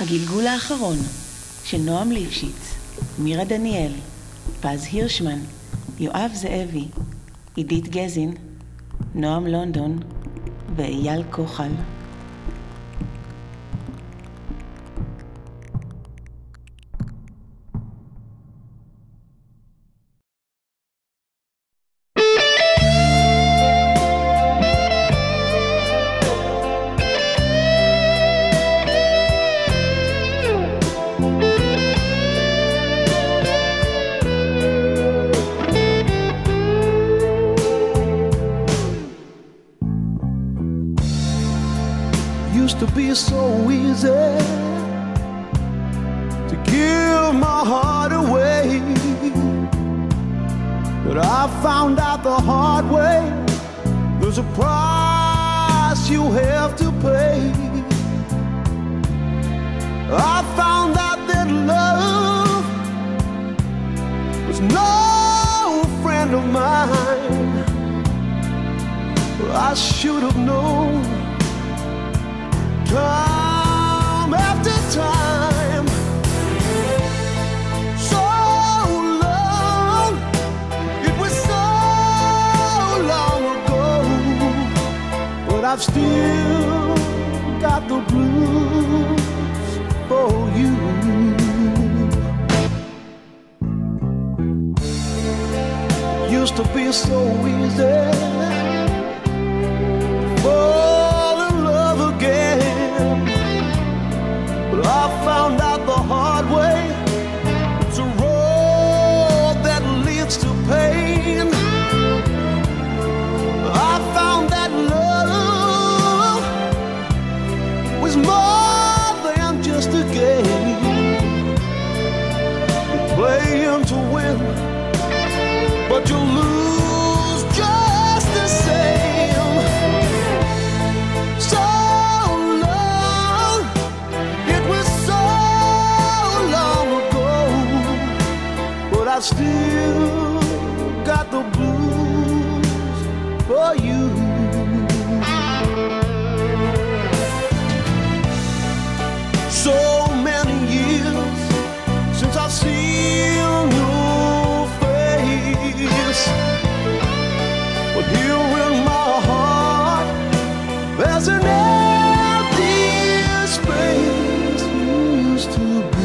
הגלגול האחרון של נועם ליפשיץ, מירה דניאל, פז הירשמן, יואב זאבי, עידית גזין, נועם לונדון ואייל כוחל. To be so easy to give my heart away, but I found out the hard way there's a price you have to pay. I found out that love was no friend of mine. I should have known time after time. So long, it was so long ago, but I've still got the blues for you. Used to be so easy fall in love again, but I found out the hard way it's a road that leads to pain. I found that love was more than just a game. You play him to win, but you lose just the same. So long, it was so long ago, but I still got the blues for you. So many years since I've seen your face, but here in my heart there's an empty space you used to be.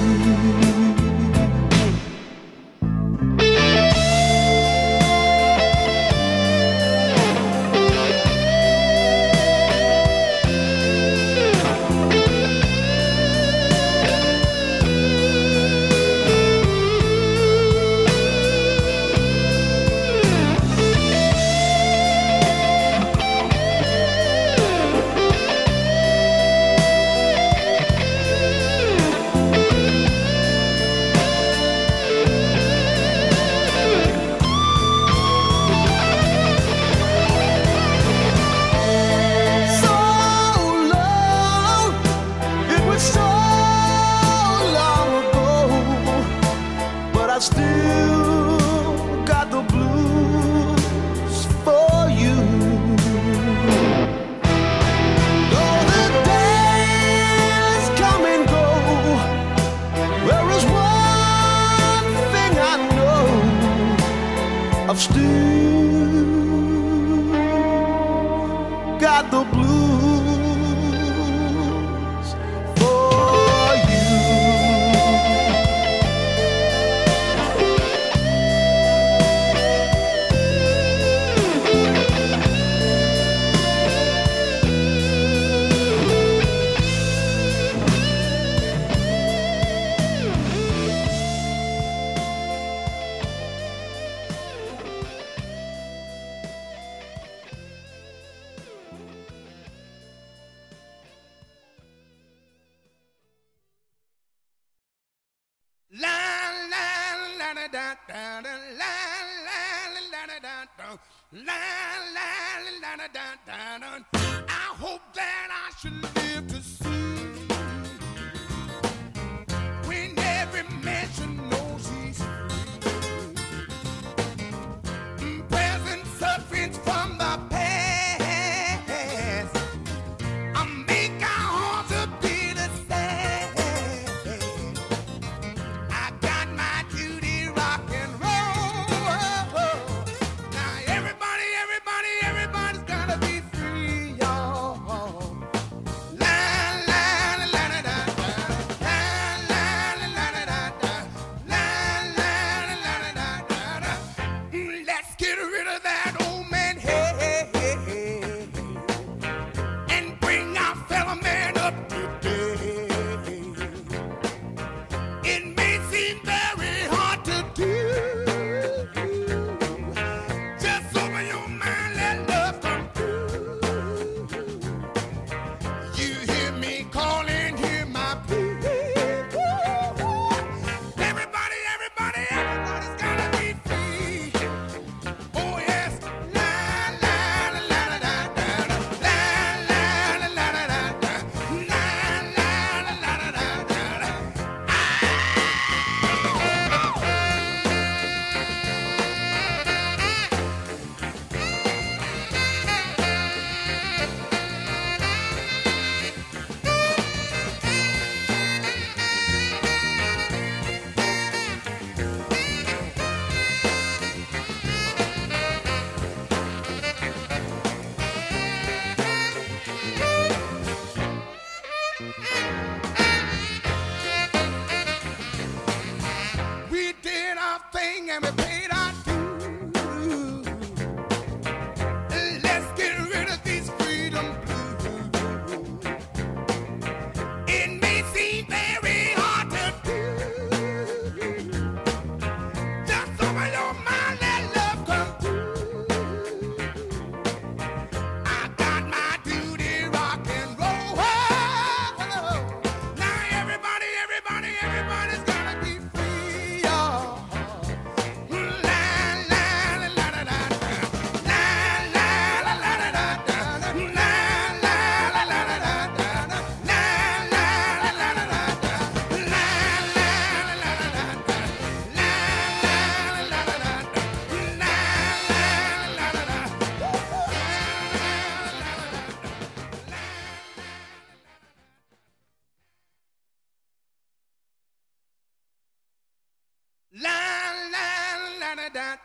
I've still got the blues for you. I hope that I should live to see when every man should know she's free. Present sufferings from the past, I make our hearts a bit sad.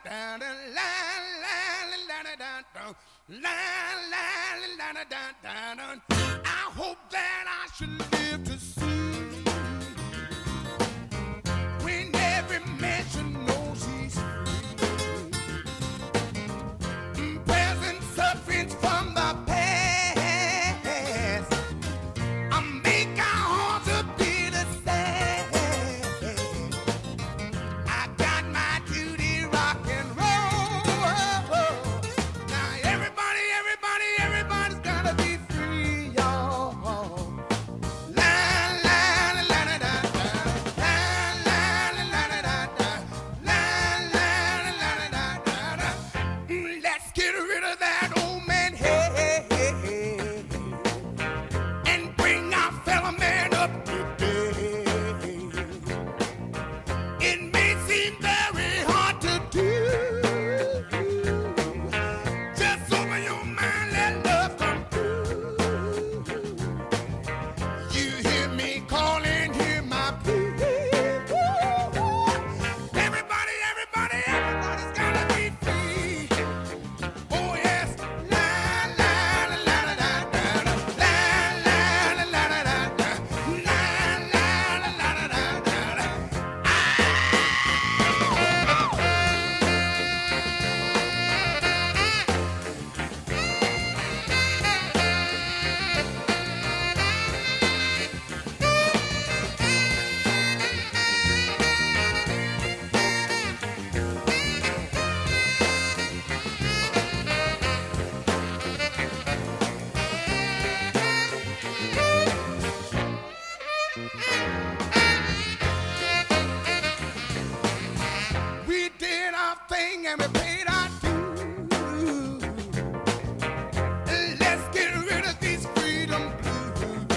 I hope that I should live to see when every man should know she's free. Present sufferings from the past, I make our hearts a bit sad. I got my duty rock and roll. Now everybody's gotta be free, y'all. La la la la la la la la la la la la la la la la. Let's get rid of that old man head and bring our fellow man up to date. It may seem very hard to do. Just open your mind, let love come through. You hear me calling, hear my plea. Everybody's gotta be free. Oh yes, la la la la la la la la la la la la la la la. We did our thing and we paid our dues. Let's get rid of these freedom blues.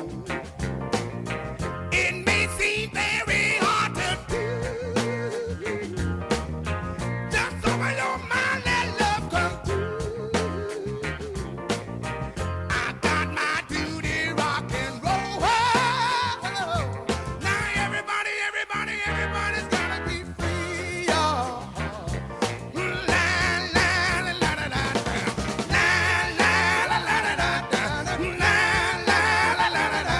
It may seem very hard to do. Just open your mind, let love come through. I got my duty rock and roll. Now everybody's gotta be free, y'all. La la la la la la la la la la la la la la la la la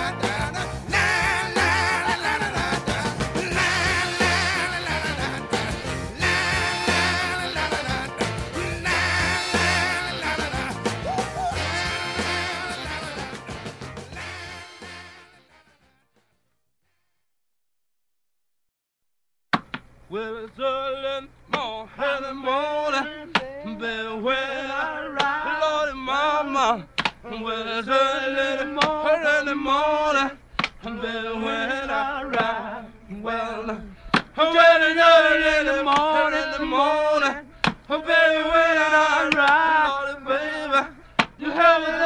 Well, it's early morning, baby, when I ride, Lordy Mama. Well, it's early morning, baby, when I ride. Well, when it's early in the morning, baby, when I ride, Lordy, baby, you have me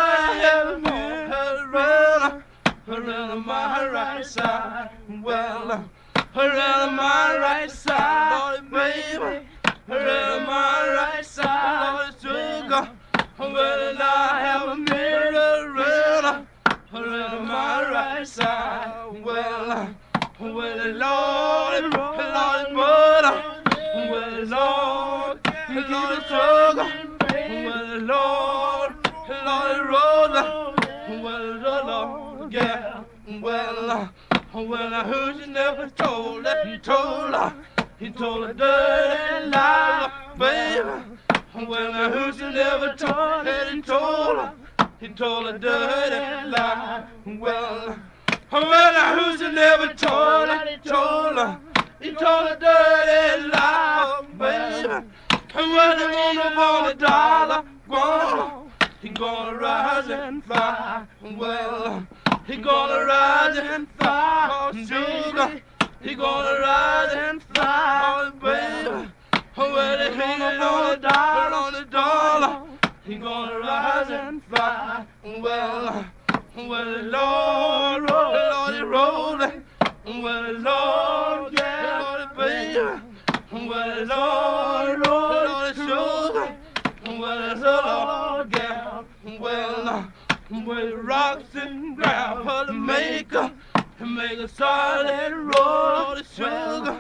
around my right side. Well, around my right side, Lordy, baby, around my right side, Lordy, sugar. Well, I have a mirror around my right side. Well, Lordy, Lordy, butter. Well, Lordy, sugar. Well, Lordy, Rosa. Well, Lord, yeah. Well, I heard you never told her. He told her dirty lie, baby. Well, I heard you never told her. He told her dirty lie. Well, I heard you never told her. He told her dirty lie, baby. And when he wanna want $1, he gonna rise and fly. Well, he gonna rise and fly, sugar. He gonna rise and fly, baby. Well, he gonna want $1, he gonna rise and fly. Well, Lord, Lordy, rolling. Well, Lord, yeah, Lordy, baby. Well, Lord, sugar. Well, Lord, yeah. Well, rocks and gravel to make a solid roll of sugar.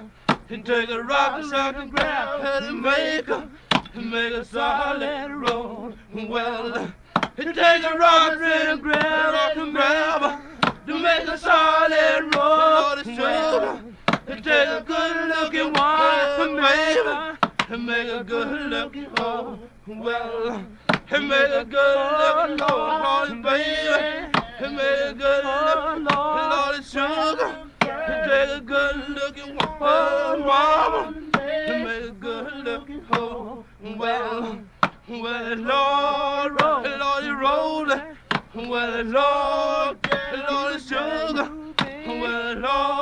and take a rock and grab and make a solid road. Well, it takes a rock and grab to make a solid road. Well, it takes a good-looking one, baby, to make a good-looking hoe. Well, it make a good-looking hoe, baby, to make a good-looking Lord sugar. It takes a good-looking one, mama, to make a good-looking hoe. Well, Lord, rolling. Well, Lord, sugar. Well,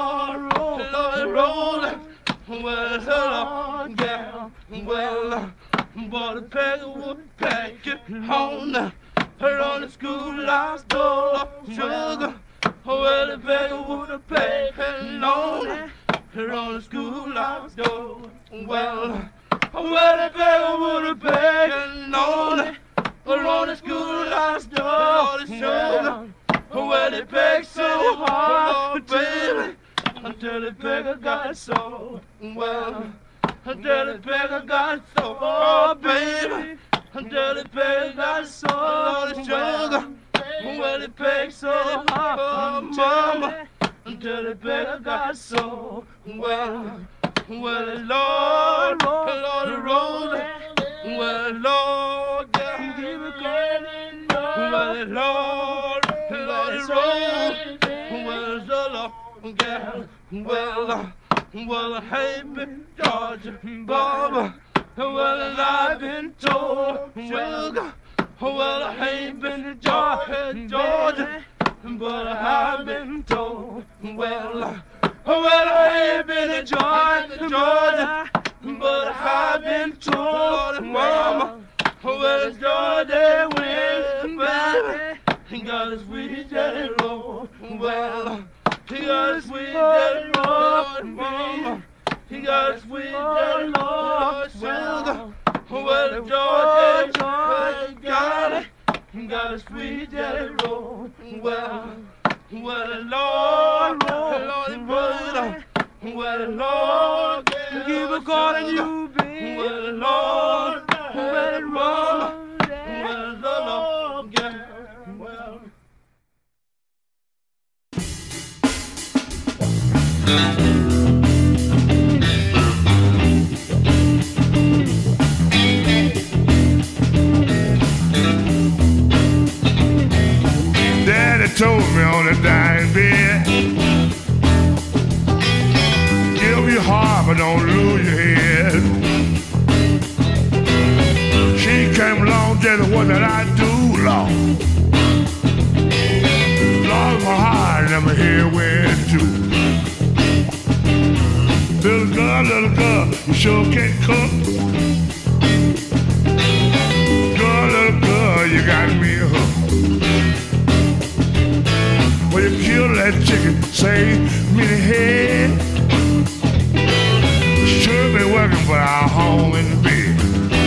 Lord, rolling. Well, Lord, yeah. Well, but a peg would pack it on the schoolhouse door, sugar. Well, the peg would pack it on the schoolhouse door. Well, the peg would pack it on the schoolhouse door, sugar. Well, it pegged so hard, baby, until the beggar got so well. Until the beggar got so hard, baby, until the beggar got so sugar. Well, it pegged so hard, mama, until the beggar got so well. Well, Lord, rolling. Well, Lord, yeah, give it going. Well, Lord, rolling. Well, the Lord, yeah. Well, hey, been Georgia, Baba. Well, I've been told, sugar. Well, I ain't been to Georgia, but I've been told. Well, I ain't been to Georgia, but I've been told, Mama. Well, Georgia went, baby. He got a sweet jelly roll. Well, he got a sweet jelly roll, Mama. He got a sweet jelly roll, sugar. Well, Georgia got it. He got a sweet jelly roll. Well, Lord, brother. Well, Lord, keep a calling you, baby. Well, Lord, well, Lord, well, the Lord, yeah, well. Daddy told me on the dying bed, give your heart but don't lose your head. She came along, just what did I do, Lord? Lost my heart, never hear where to. Little girl, you sure can't cook. Little girl, you got me hooked. Well, you kill that chicken, save me the head. Sure been working for our home in the bed.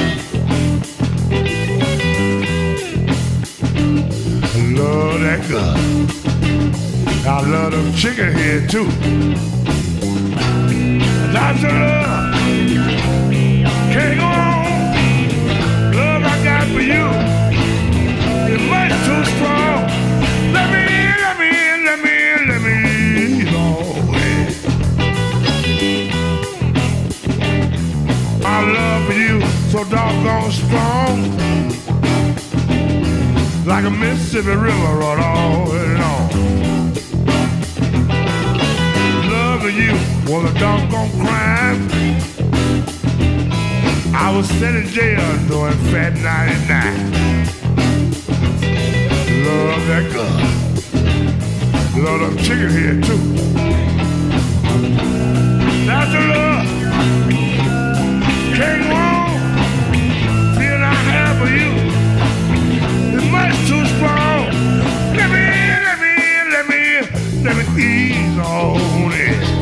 I love that girl. I love them chicken head too. Lots of love, can't go on. Love I got for you is much too strong. Let me my love for you so doggone strong, like a Mississippi River run all along. Love for you was a doggone crime. I was sent in jail doing Fat 99. Love that girl. Love them chicken here too. That's the love. Can't go on. Feel I have for you. It's much too strong. Let me ease on it.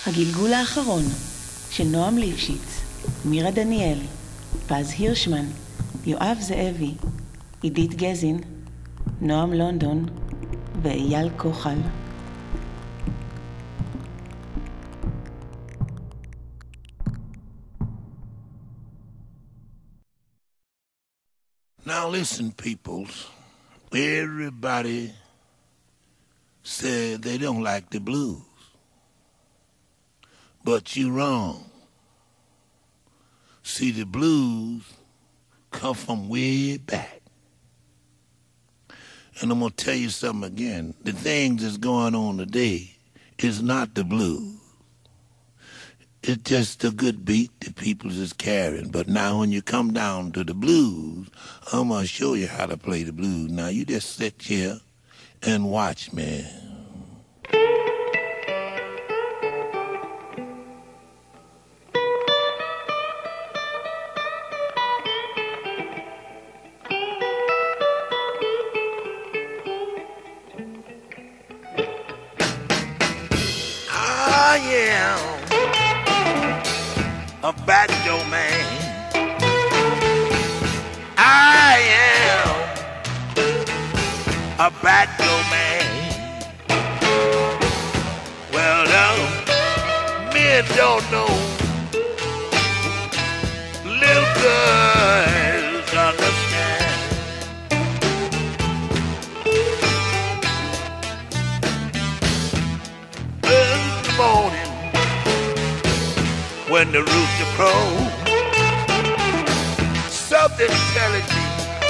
הגלגול האחרון של נועם ליפשיץ, מירה דניאל, פז הירשמן, יואב זאבי, עידית גזין, נועם לונדון ואייל כוחל. Now listen, peoples. Everybody said they don't like the blues. But you're wrong. See, the blues come from way back. And I'm going to tell you something again. The things that's going on today is not the blues. It's just a good beat that people is carrying. But now when you come down to the blues, I'm going to show you how to play the blues. Now you just sit here and watch me. I am a banjo man. I am a banjo man. Well, men don't know. Little girls understand. Early morning, when the rooster crows, something's telling me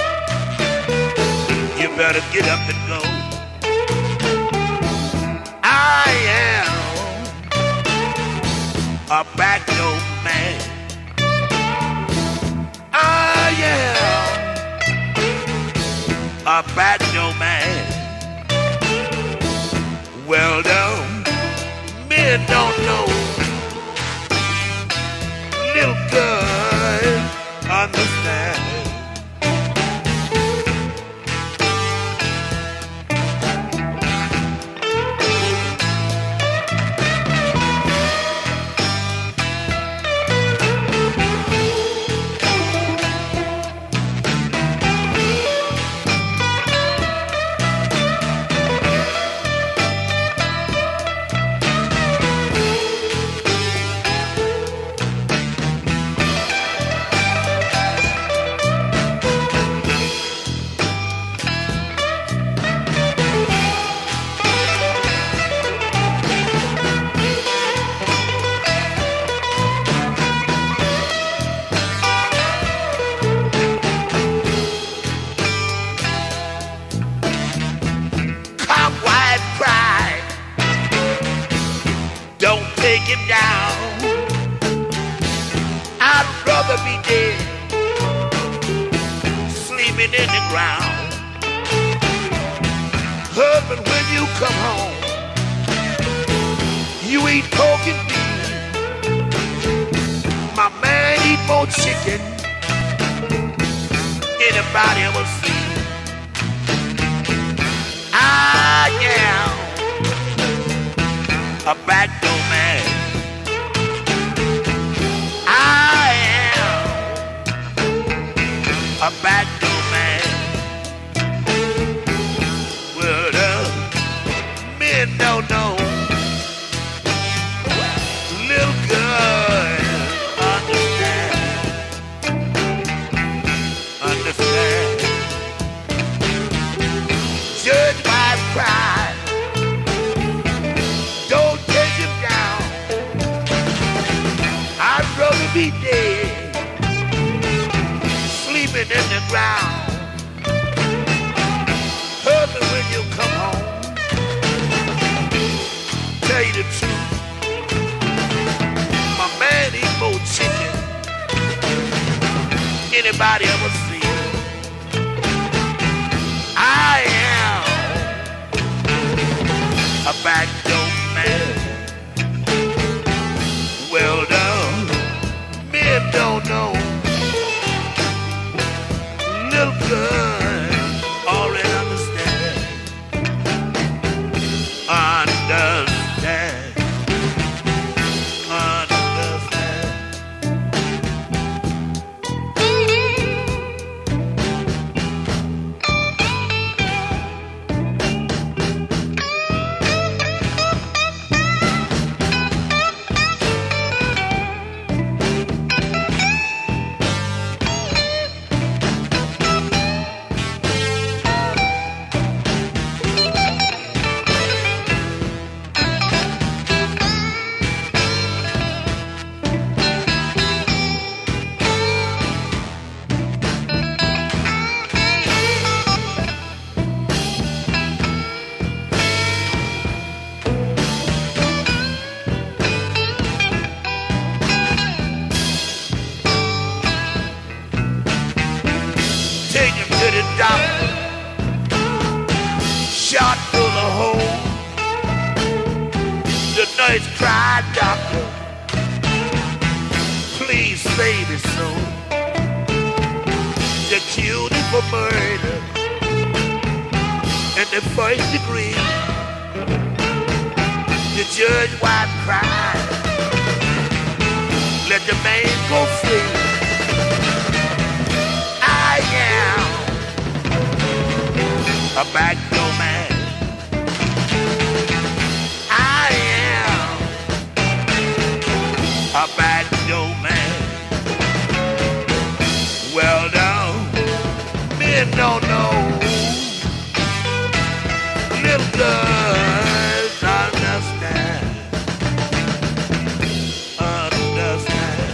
you better get up and go. I am a banjo man. I am a banjo man. Well done, men don't know. Little girls understand. nurse cried, doctor, please save his soul. They killed him for murder in the first degree. The judge wife cried, let the man go free. I am a backdoor man. I am a backdoor man. Well done, men don't know. Little girls understand. Understand.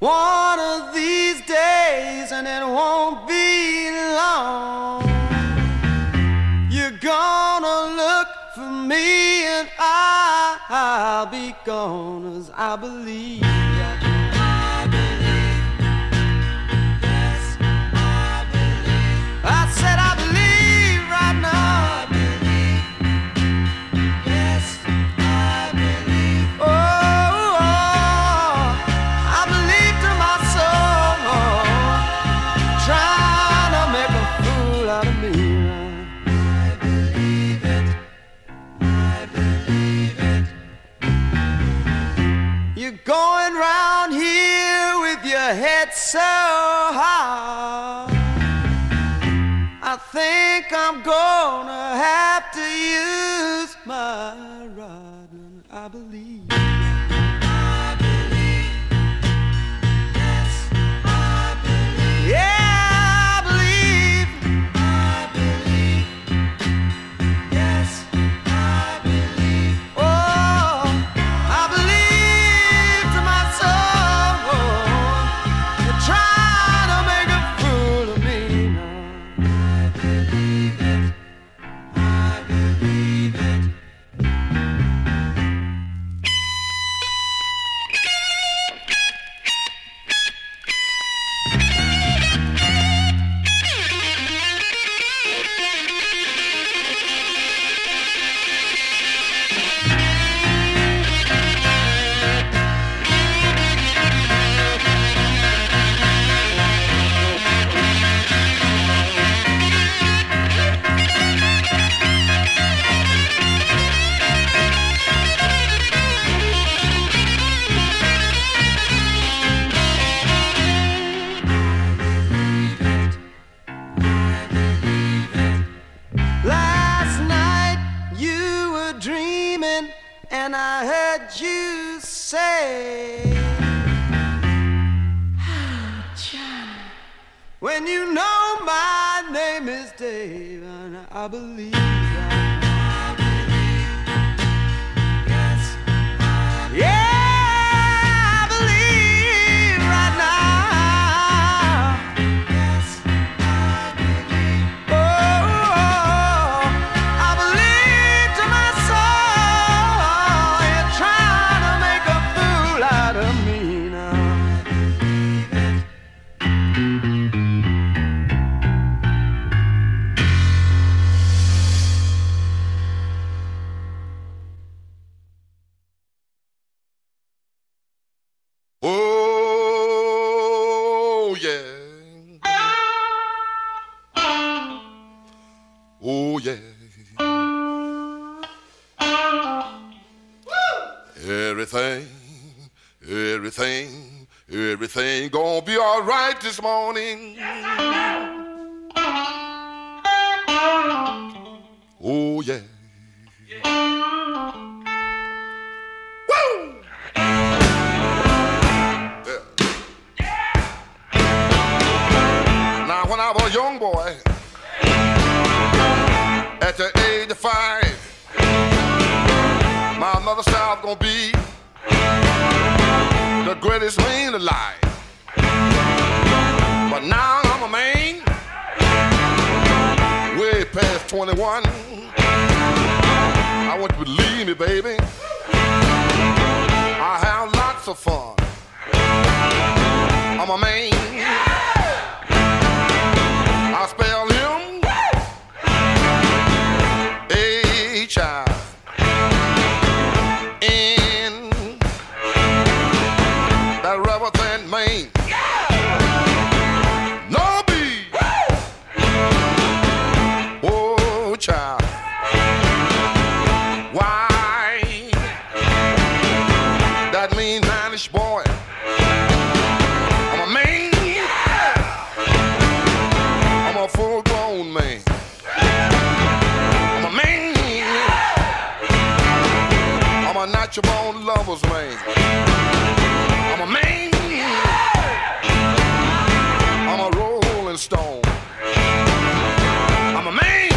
One of these days, and it won't be long, you're gonna look for me and I'll be gone, as I believe. I believe, yes, I believe. I said I believe right now. I believe, yes, I believe. Oh, I believe to my soul, trying to make a fool out of me. I believe it, I believe it. You're going round here with your head so high. I think I'm gonna have to use my rod. I believe. I believe. Yes, I believe. Yeah, I believe. I believe. Yes, I believe. Oh, I believe to my soul. You're trying to make a fool of me now. I believe it. I believe it. Last night you were dreaming, and I heard you say, Johnny, when you know my name is Dave, and I believe that. I believe, yes, I believe. Yeah, I believe right now. Yes, I believe. Oh, I believe to my soul, you're trying to make a fool out of me now. Oh, yeah. Oh, yeah. Everything gonna be all right this morning. Oh, yeah. Woo! Now, when I was a young boy, at the age of 5, my mother said I was gonna be the greatest man alive. But now I'm a man, way past 21. I want you to believe me, baby. I have lots of fun. I'm a man. I spell him H-I-N. That rubber band man. No B. Oh, child. Why? That mean mannish boy. I'm a man. I'm a full-grown man. I'm a man. I'm a natural-born lover's man. I'm a man. I'm a rolling stone. I'm a man.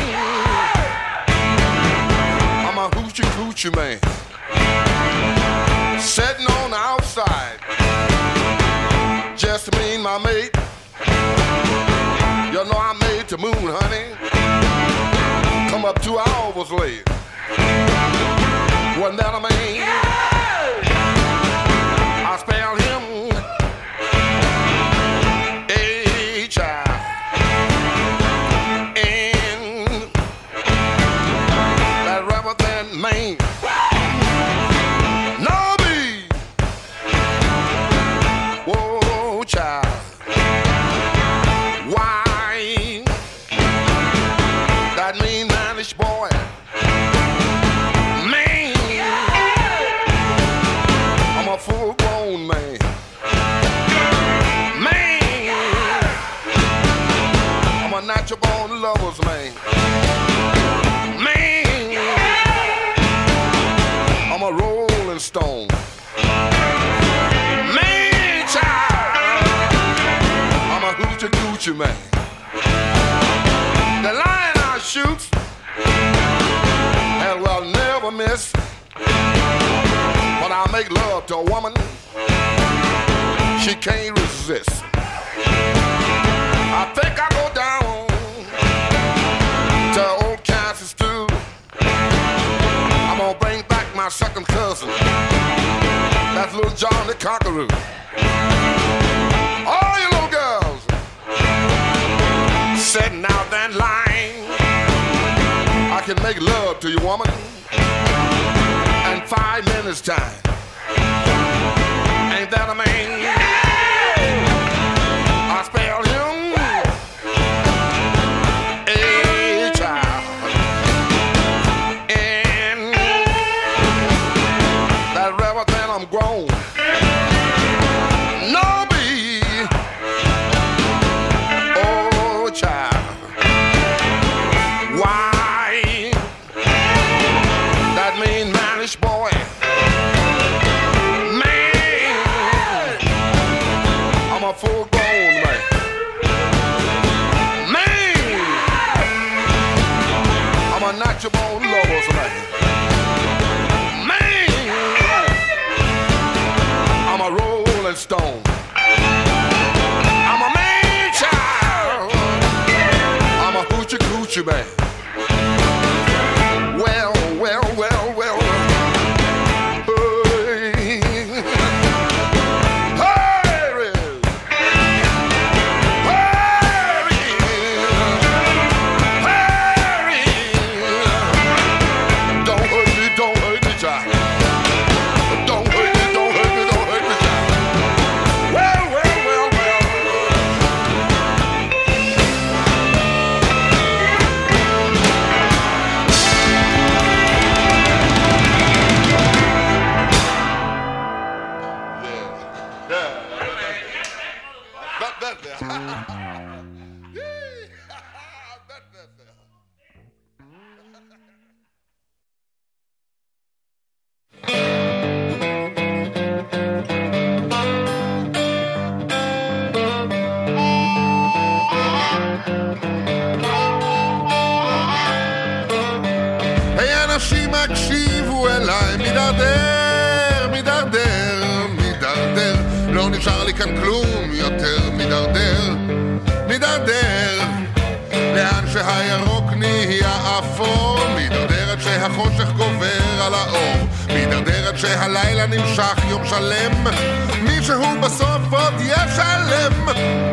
I'm a hoochie coochie man. Sitting on the outside, the moon, honey. Come up 2 hours late. Wasn't that a man? I spelled him H-I. And that rubber than man. No be. Whoa, child. Why? That mean manish boy. Man. I'm a full-grown man. Man. I'm a natural-born lover's man. Man. I'm a rolling stone. Man, child. I'm a hoochie-coochie man. The line I shoot and will never miss. When I make love to a woman, she can't resist. I think I go down to old Kansas stew. I'm gonna bring back my second cousin. That's little John the Conqueror. All you little girls sitting out that line, I can make love to you, woman, in 5 minutes time. Ain't that a man? I spelled him A-child. And that rubber then I'm grown. No be. Oh, child. Why? That mean manish boy. Man. I'm a full-grown man. Man. I'm a natural lover's man. Man. I'm a rolling stone. I'm a man child. I'm a hoochie-coochie man. Well, well, well, well. Hey. Hurry. Hurry. Hurry. Don't hurt me, child. Don't hurt me, don't hurt me, don't hurt me, child. Well, well, well, well. היי אנשים הקשיבו אליי, מדרדר, מדרדר, מדרדר, לא נשאר לי כאן כלום יותר, מדרדר, מדרדר, לאן שהירוק נהיה אפור, מדרדר עד שהחושך גובר על האור, מדרדר עד שהלילה נמשך יום שלם, מישהו בסוף עוד ישלם.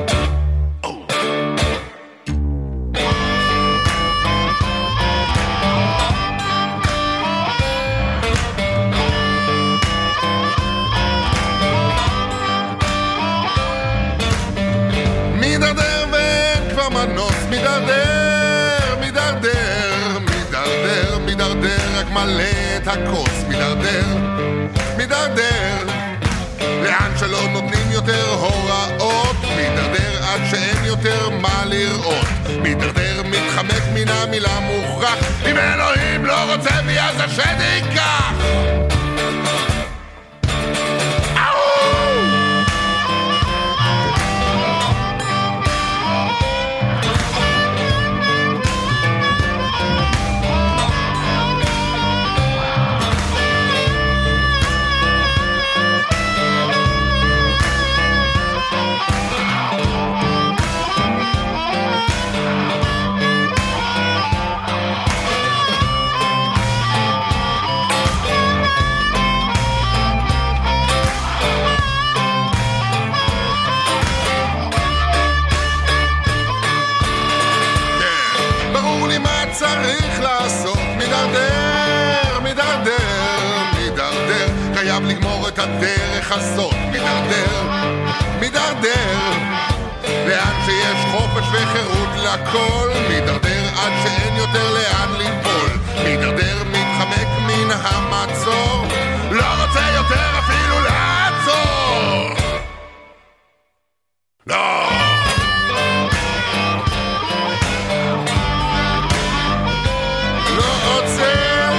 מדרדר ואין כבר מנוס, מדרדר, מדרדר, מדרדר, מדרדר, רק מלא את הכוס, מדרדר, מדרדר, לאן שלא נותנים יותר הוראות, מדרדר עד שאין יותר מה לראות, מדרדר מתחמק מן המילה מוכרח, אם אלוהים לא רוצה בי אז השד ייקח. חייב לגמור את הדרך הזאת. מדרדר, מדרדר, לאן שיש חופש וחירות לכל. מדרדר עד שאין יותר לאן ליפול. מדרדר מתחמק מן המצור, לא רוצה יותר אפילו לעצור. לא! לא עוצר.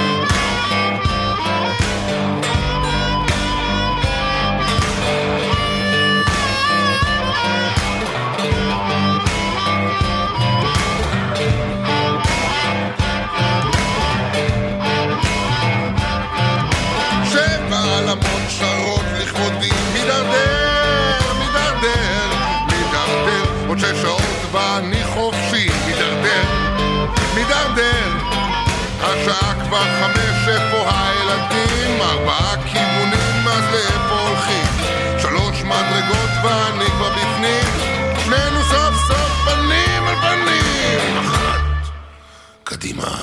שבע עלמות שרות לכבודי. מדרדר, מדרדר, מדרדר, עוד 6 שעות ואני חופשי. מדרדר, מדרדר, השעה כבר 5, איפה הילדים? 4 כיוונים, אז לאיפה הולכים? 3 מדרגות ואני כבר בפנים. שנינו סוף סוף פנים על פנים. 1, קדימה.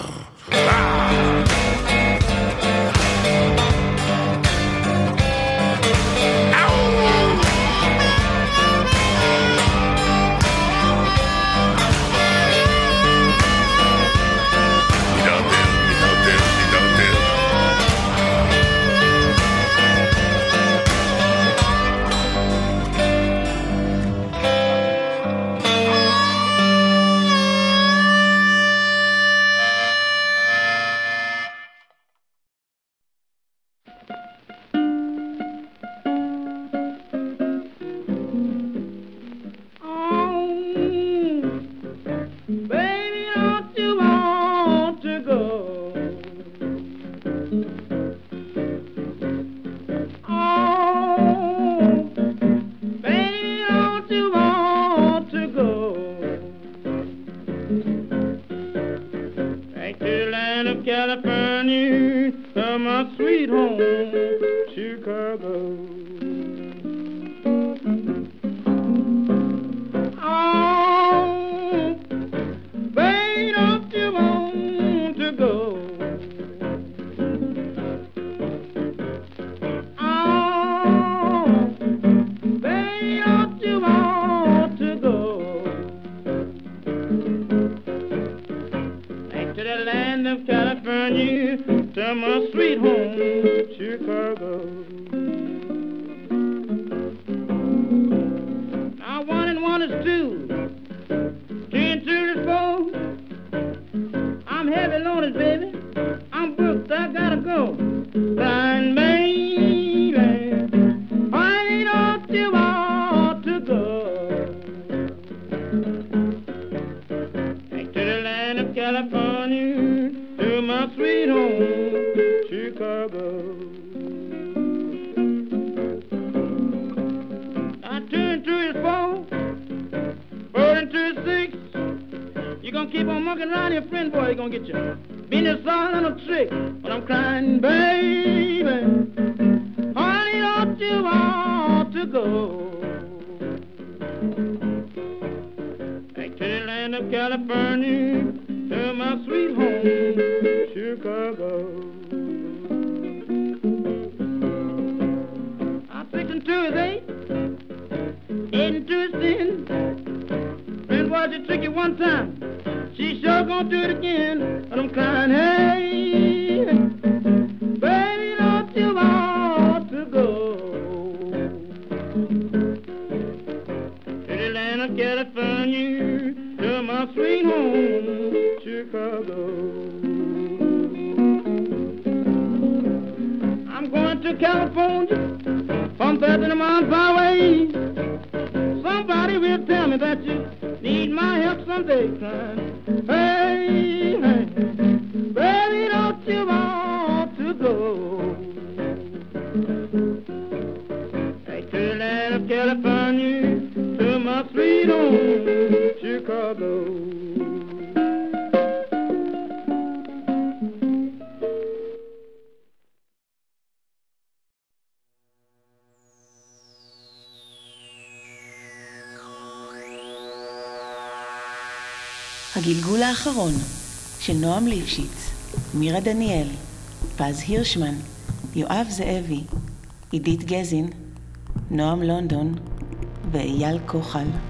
הגלגול האחרון של נועם ליפשיץ, מירה דניאל, פז הירשמן, יואב זאבי, עידית גזין, נועם לונדון ואייל כוחל.